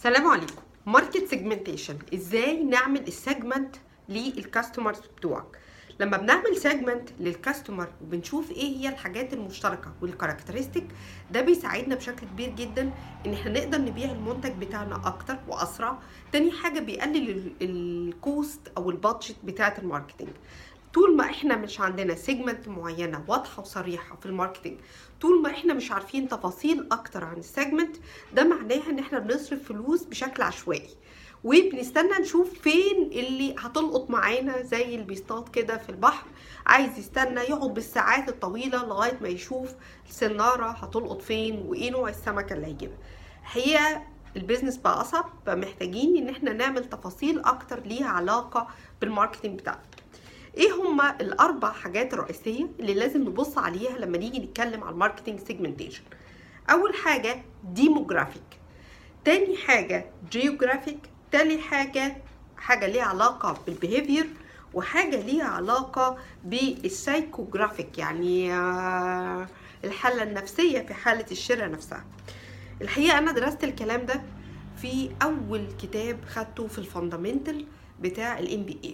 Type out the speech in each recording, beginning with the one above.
السلام عليكم. ماركت سيجمنتيشن، ازاي نعمل السيجمنت للكاستمرز بتوعك. لما بنعمل سيجمنت للكاستمر وبنشوف ايه هي الحاجات المشتركه والكاركترستيك، ده بيساعدنا بشكل كبير جدا ان احنا نقدر نبيع المنتج بتاعنا اكتر واسرع. تاني حاجه بيقلل الكوست او البادجت بتاعه الماركتنج. طول ما احنا مش عندنا سيجمنت معينه واضحه وصريحه في الماركتنج، طول ما احنا مش عارفين تفاصيل اكتر عن السيجمنت، ده معناه ان احنا بنصرف فلوس بشكل عشوائي وبنستنى نشوف فين اللي هتلقط معانا، زي اللي بيصطاد كده في البحر عايز يستنى يقعد بالساعات الطويله لغايه ما يشوف السناره هتلقط فين وايه نوع السمكه اللي هيجيبها. هي البيزنس بقى اصعب، فمحتاجين ان احنا نعمل تفاصيل اكتر ليها علاقه بالماركتنج بتاعنا. ايه هما الاربع حاجات الرئيسيه اللي لازم نبص عليها لما نيجي نتكلم على الماركتنج سيجمنتيشن؟ اول حاجه ديموغرافيك، تاني حاجه جيوغرافيك، تالي حاجه ليها علاقه بالبيهيفير، وحاجه ليها علاقه بالسايكوجرافيك، يعني الحاله النفسيه في حاله الشراء نفسها. الحقيقه انا درست الكلام ده في اول كتاب خدته في الفاندامنتال بتاع الMBA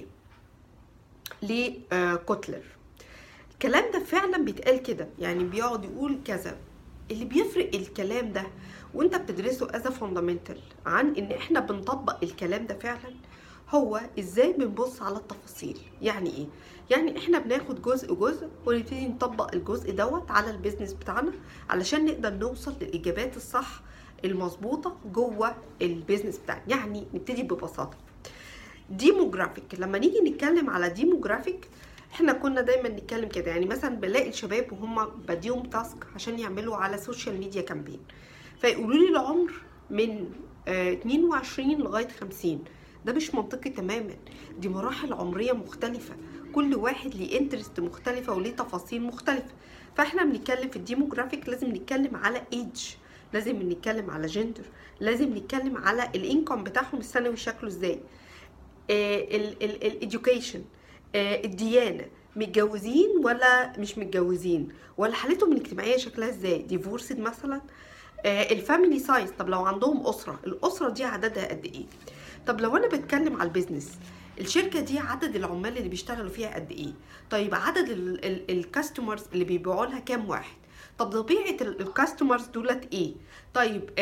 لكوتلر. الكلام ده فعلا بيتقال كده، يعني بيقعد يقول كذا. اللي بيفرق الكلام ده وانت بتدرسه as a fundamental عن ان احنا بنطبق الكلام ده فعلا، هو ازاي بنبص على التفاصيل. يعني ايه؟ يعني احنا بناخد جزء ونبتدي نطبق الجزء دوت على البيزنس بتاعنا علشان نقدر نوصل للاجابات الصح المظبوطه جوه البيزنس بتاعنا. يعني نبتدي ببساطه ديموغرافيك. لما نيجي نتكلم على ديموغرافيك، احنا كنا دايما نتكلم كده، يعني مثلا بنلاقي الشباب وهم بديهم تاسك عشان يعملوا على سوشيال ميديا كامبين، فيقولوا لي العمر من 22 لغايه 50. ده مش منطقي تماما، دي مراحل عمريه مختلفه، كل واحد ليه انترست مختلفه وليه تفاصيل مختلفه. فاحنا بنتكلم في الديموغرافيك لازم نتكلم على ايدج، لازم نتكلم على جندر، لازم نتكلم على الانكم بتاعهم السنوي شكله ازاي، الاديوكيشن، الديانه، متجوزين ولا مش متجوزين، ولا حالتهم الاجتماعيه شكلها ازاي، ديفورسد مثلا، الفاميلي سايز، طب لو عندهم اسره، الاسره دي عددها قد ايه. طب لو انا بتكلم على البيزنس، الشركه دي عدد العمال اللي بيشتغلوا فيها قد ايه، طيب عدد الكاستمرز اللي بيبيعوا لها كام واحد، طب طبيعه الكاستمرز دولت ايه، طيب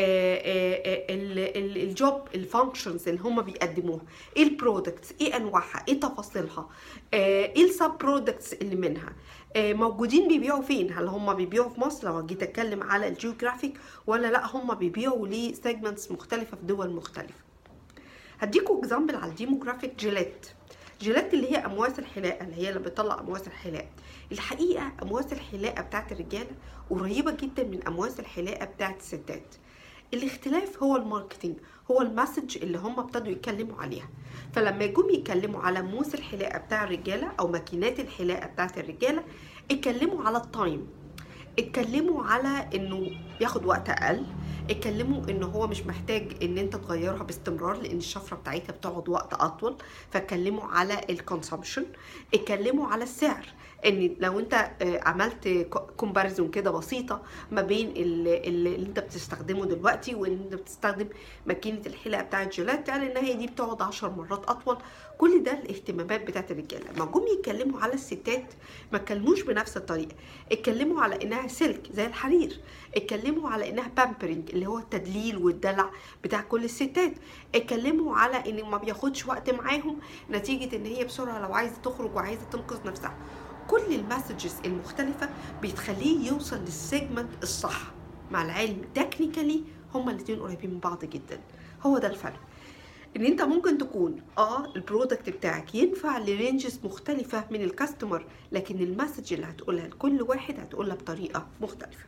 الجوب الفانكشنز اللي هم بيقدموها، ايه البرودكتس، ايه انواعها، ايه تفاصيلها، ايه السب برودكتس اللي منها، موجودين بيبيعوا فين، هل هم بيبيعوا في مصر لو جيت اتكلم على الجيوغرافيك، ولا لا هم بيبيعوا لسيجمنتس مختلفه في دول مختلفه. هديكوا اكزامبل على الديموغرافيك. جيلات اللي هي امواس الحلاقه، اللي هي اللي بتطلع امواس الحلاقه. الحقيقه امواس الحلاقه بتاعت الرجاله قريبه جدا من امواس الحلاقه بتاعت الستات. الاختلاف هو الماركتينج، هو المسج اللي هم ابتدوا يتكلموا عليها. فلما يجوا يتكلموا على موس الحلاقه بتاع الرجاله او ماكينات الحلاقه بتاعت الرجاله، اتكلموا على التايم، اتكلموا على انه ياخد وقت اقل، اتكلموا ان هو مش محتاج ان انت تغيرها باستمرار لان الشفره بتاعتها بتقعد وقت اطول، فاتكلموا على الكونسومشن، اتكلموا على السعر، ان لو انت عملت كومباريزون كده بسيطه ما بين اللي انت بتستخدمه دلوقتي وان انت بتستخدم ماكينه الحلاقه بتاعت جيلات، يعني ان هي دي بتقعد 10 مرات اطول. كل ده الاهتمامات بتاعت الرجاله. لما جم يتكلموا على الستات ما اتكلموش بنفس الطريقه، اتكلموا على انها سلك زي الحرير، اتكلموا على انها بامبرنج اللي هو التدليل والدلع بتاع كل الستات، اتكلموا على ان ما بياخدش وقت معاهم نتيجه ان هي بسرعه لو عايزه تخرج وعايزه تنقذ نفسها. كل المسجز المختلفه بتخليه يوصل للسيجمنت الصح. مع العلم تكنيكالي هما الاثنين قريبين من بعض جدا. هو ده الفرق، ان انت ممكن تكون البرودكت بتاعك ينفع لرينجز مختلفه من الكاستمر، لكن المسج اللي هتقولها لكل واحد هتقولها بطريقه مختلفه.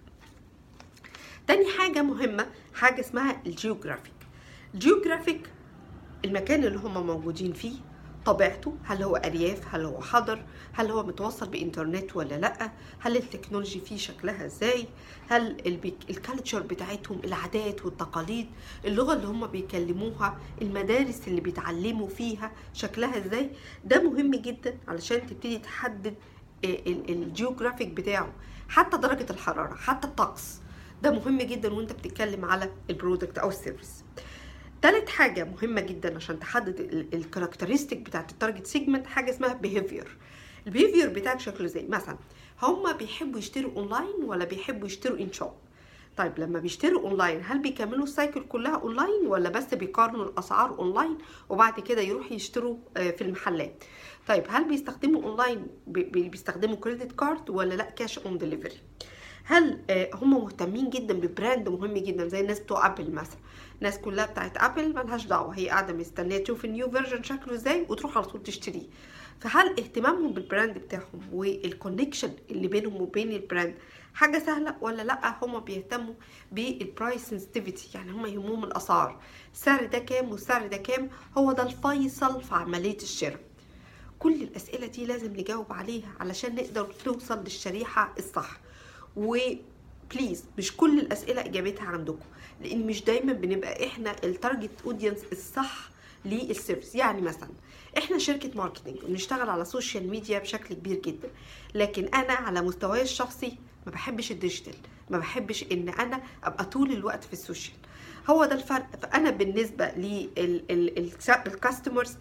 تاني حاجه مهمه حاجه اسمها الجيوغرافيك، المكان اللي هم موجودين فيه، طبيعته، هل هو ارياف، هل هو حضر، هل هو متوصل بانترنت ولا لا، هل التكنولوجي فيه شكلها ازاي، هل الكالتشر بتاعتهم، العادات والتقاليد، اللغه اللي هم بيكلموها، المدارس اللي بيتعلموا فيها شكلها ازاي. ده مهم جدا علشان تبتدي تحدد الجيوغرافيك بتاعه. حتى درجه الحراره، حتى الطقس، ده مهم جدا وانت بتتكلم على البرودكت او السيرفيس. تالت حاجة مهمة جدا عشان تحدد الكاركترستيك بتاعت التارجت سيجمنت، حاجة اسمها بيهيفير. البيهيفير بتاعك شكله زي مثلا هما بيحبوا يشتروا اونلاين ولا بيحبوا يشتروا ان شوب. طيب لما بيشتروا اونلاين هل بيكملوا السايكل كلها اونلاين ولا بس بيقارنوا الاسعار اونلاين وبعد كده يروحوا يشتروا في المحلات؟ طيب هل بيستخدموا اونلاين بيستخدموا كريدت كارد ولا لا كاش اون ديليفري؟ هل هم مهتمين جدا ببراند مهم جدا زي الناس بتوع ابل مثلا؟ الناس كلها بتاعت ابل ملهاش دعوه، هي قاعده مستنيه تشوف النيو فيرجن شكله ازاي وتروح على طول تشتريه. فهل اهتمامهم بالبراند بتاعهم والكونكشن اللي بينهم وبين البراند حاجه سهله ولا لا هم بيهتموا بالبرايس سنسيتيفيتي؟ يعني هم يهمهم الاسعار، السعر ده كام والسعر ده كام، هو ده الفيصل في عمليه الشراء. كل الاسئله دي لازم نجاوب عليها علشان نقدر نوصل للشريحه الصح. وبليز مش كل الاسئله اجابتها عندكم، لان مش دايما بنبقى احنا التارجت اودينس الصح للسيرفيس. يعني مثلا احنا شركه ماركتنج وبنشتغل على السوشيال ميديا بشكل كبير جدا، لكن انا على مستواي الشخصي ما بحبش الديجيتال، ما بحبش ان انا ابقى طول الوقت في السوشيال. هو ده الفرق. فانا بالنسبه للكاستمرز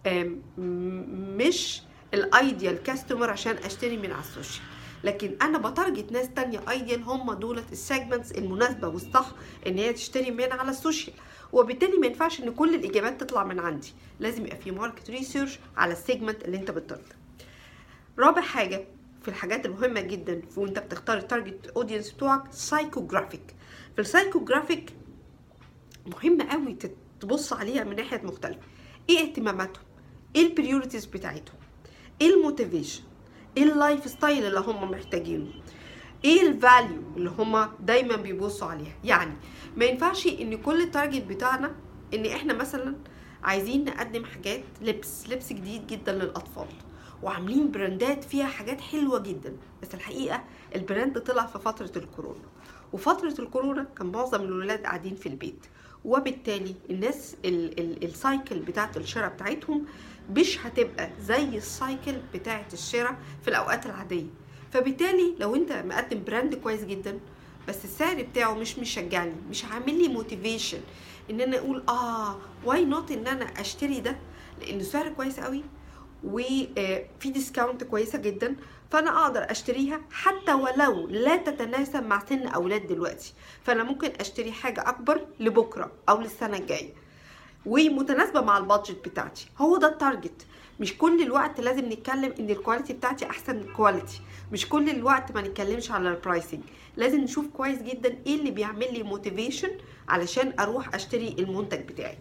مش الايديال كاستمر عشان اشتري من على السوشيال، لكن انا بتارجت ناس تانية ايديال، هم دولت السيجمنتس المناسبه والصح ان هي تشتري من على السوشيال. وبالتالي ما ينفعش ان كل الاجابات تطلع من عندي، لازم يبقى في ماركت ريسيرش على السيجمنت اللي انت بتارجت. رابع حاجه في الحاجات المهمه جدا وانت بتختار التارجت اودينس بتوعك، سايكوجرافيك. في السايكوجرافيك مهم قوي تبص عليها من ناحيه مختلفه. ايه اهتماماتهم؟ ايه البريوريتيز بتاعتهم؟ ايه الموتيفيشن؟ ايه اللايف ستايل اللي هم محتاجينه؟ ايه الفاليو اللي هم دايما بيبصوا عليها؟ يعني ما ينفعش ان كل التارجت بتاعنا ان احنا مثلا عايزين نقدم حاجات لبس جديد جدا للاطفال وعاملين براندات فيها حاجات حلوه جدا، بس الحقيقه البراند طلع في فتره الكورونا، وفتره الكورونا كان معظم الولاد قاعدين في البيت، وبالتالي الناس السايكل بتاعت الشراء بتاعتهم مش هتبقى زي السايكل بتاعت الشراء في الاوقات العاديه. فبالتالي لو انت مقدم براند كويس جدا بس السعر بتاعه مش مشجعني، مش عامل لي موتيفيشن ان انا اقول واي نوت ان انا اشتري ده لانه سعر كويس قوي وفي ديسكاونت كويسه جدا، فانا اقدر اشتريها حتى ولو لا تتناسب مع سن اولاد دلوقتي، فانا ممكن اشتري حاجه اكبر لبكره او للسنه الجايه ومتناسبه مع البادجت بتاعتي. هو ده التارجت. مش كل الوقت لازم نتكلم ان الكواليتي بتاعتي احسن كواليتي، مش كل الوقت ما نتكلمش على البرايسنج، لازم نشوف كويس جدا ايه اللي بيعمل لي موتيفيشن علشان اروح اشتري المنتج بتاعي.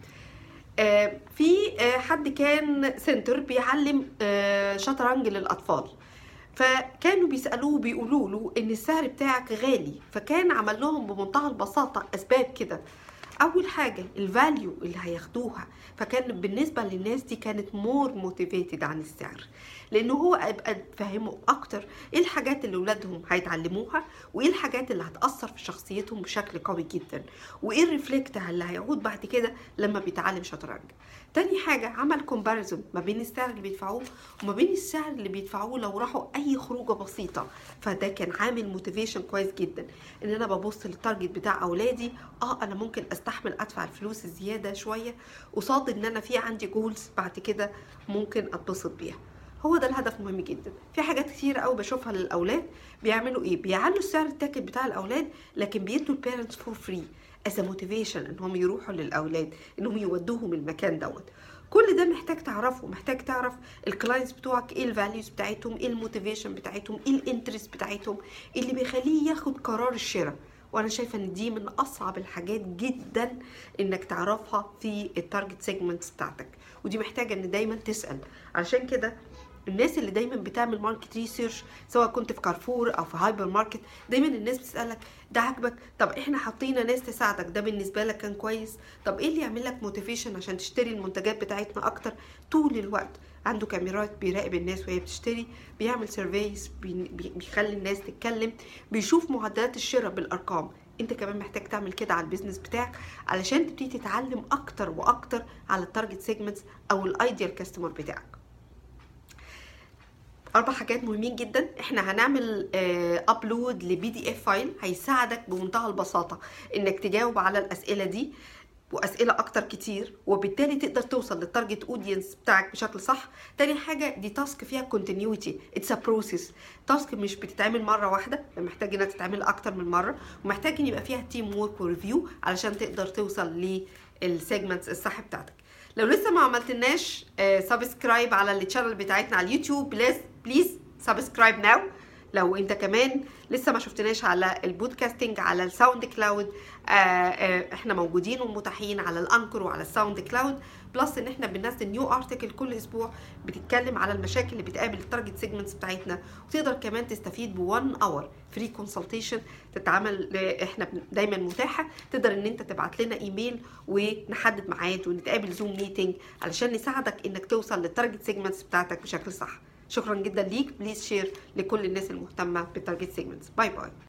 في حد كان سنتر بيعلم شطرنج للاطفال، فكانوا بيسالوه بيقولوا له ان السعر بتاعك غالي، فكان عمل لهم بمنتهى البساطه اسباب كده. اول حاجه الفاليو اللي هياخدوها، فكان بالنسبه للناس دي كانت مور موتيفيتد عن السعر، لانه هو ابقى فهموا اكتر ايه الحاجات اللي اولادهم هيتعلموها وايه الحاجات اللي هتاثر في شخصيتهم بشكل قوي جدا وايه الريفلكت اللي هيعود بعد كده لما بيتعلم شطرنج. تاني حاجه عمل كومباريزون ما بين السعر اللي بيدفعوه وما بين السعر اللي بيدفعوه لو راحوا اي خروجه بسيطه، فده كان عامل موتيفيشن كويس جدا ان انا ببص للتارجت بتاع اولادي. انا ممكن استحمل ادفع الفلوس الزياده شويه قصاد ان انا في عندي جولز بعد كده ممكن اتبسط بيها. هو ده الهدف مهم جدا. في حاجات كتير قوي بشوفها للاولاد بيعملوا ايه، بيعلوا السعر التاكت بتاع الاولاد لكن بيدوا البيرنتس فور فري از موتيفيشن انهم يروحوا للاولاد، انهم يودوهم المكان دوت. كل ده محتاج تعرفه، محتاج تعرف الكلاينتس بتوعك ايه الفاليوز بتاعتهم، ايه الموتيفيشن بتاعتهم، ايه الانترست بتاعتهم اللي بيخليه ياخد قرار الشراء. وانا شايفه ان دي من اصعب الحاجات جدا انك تعرفها في التارجت سيجمنتس بتاعتك، ودي محتاجه ان دايما تسال. علشان كده الناس اللي دايما بتعمل ماركت ريسيرش سواء كنت في كارفور او في هايبر ماركت، دايما الناس بتسالك ده عاجبك؟ طب احنا حاطين ناس تساعدك، ده بالنسبه لك كان كويس؟ طب ايه اللي يعمل لك موتيفيشن عشان تشتري المنتجات بتاعتنا اكتر؟ طول الوقت عنده كاميرات بيراقب الناس وهي بتشتري، بيعمل سيرفيز، بيخلي الناس تتكلم، بيشوف معدلات الشراء بالارقام. انت كمان محتاج تعمل كده على البيزنس بتاعك علشان تبتدي تتعلم اكتر واكتر على التارجت سيجمنتس او الايديال كاستمر بتاعك. 4 حاجات مهمين جدا. احنا هنعمل ابلود لبي دي اف فايل هيساعدك بمنتهى البساطه انك تجاوب على الاسئله دي. واسئله اكتر كتير، وبالتالي تقدر توصل للتارجت اودينس بتاعك بشكل صح. تاني حاجه دي تاسك فيها كونتينيوتي، اتس ا بروسيس، تاسك مش بتتعمل مره واحده، محتاج انها تتعمل اكتر من مره، ومحتاج ان يبقى فيها تيم وورك وريفيو علشان تقدر توصل للسيجمنتس الصح بتاعتك. لو لسه ما عملتلناش سبسكرايب على الشانل بتاعتنا على اليوتيوب، بليز سبسكرايب ناو. لو انت كمان لسه ما شفتناش على البودكاستنج على الساوند كلاود، احنا موجودين ومتاحين على الانكر وعلى الساوند كلاود، بلس ان احنا بننزل نيو ارتكل كل اسبوع بتتكلم على المشاكل اللي بتقابل التارجت سيجمنتس بتاعتنا، وتقدر كمان تستفيد ب1 اور فري كونسلتيشن تتعمل. احنا دايما متاحه، تقدر ان انت تبعت لنا ايميل ونحدد ميعاد ونتقابل زوم ميتنج علشان نساعدك انك توصل للتارجت سيجمنتس بتاعتك بشكل صح. شكرا جدا ليك، بليز شير لكل الناس المهتمه بالتارجت سيجمنتس. باي باي.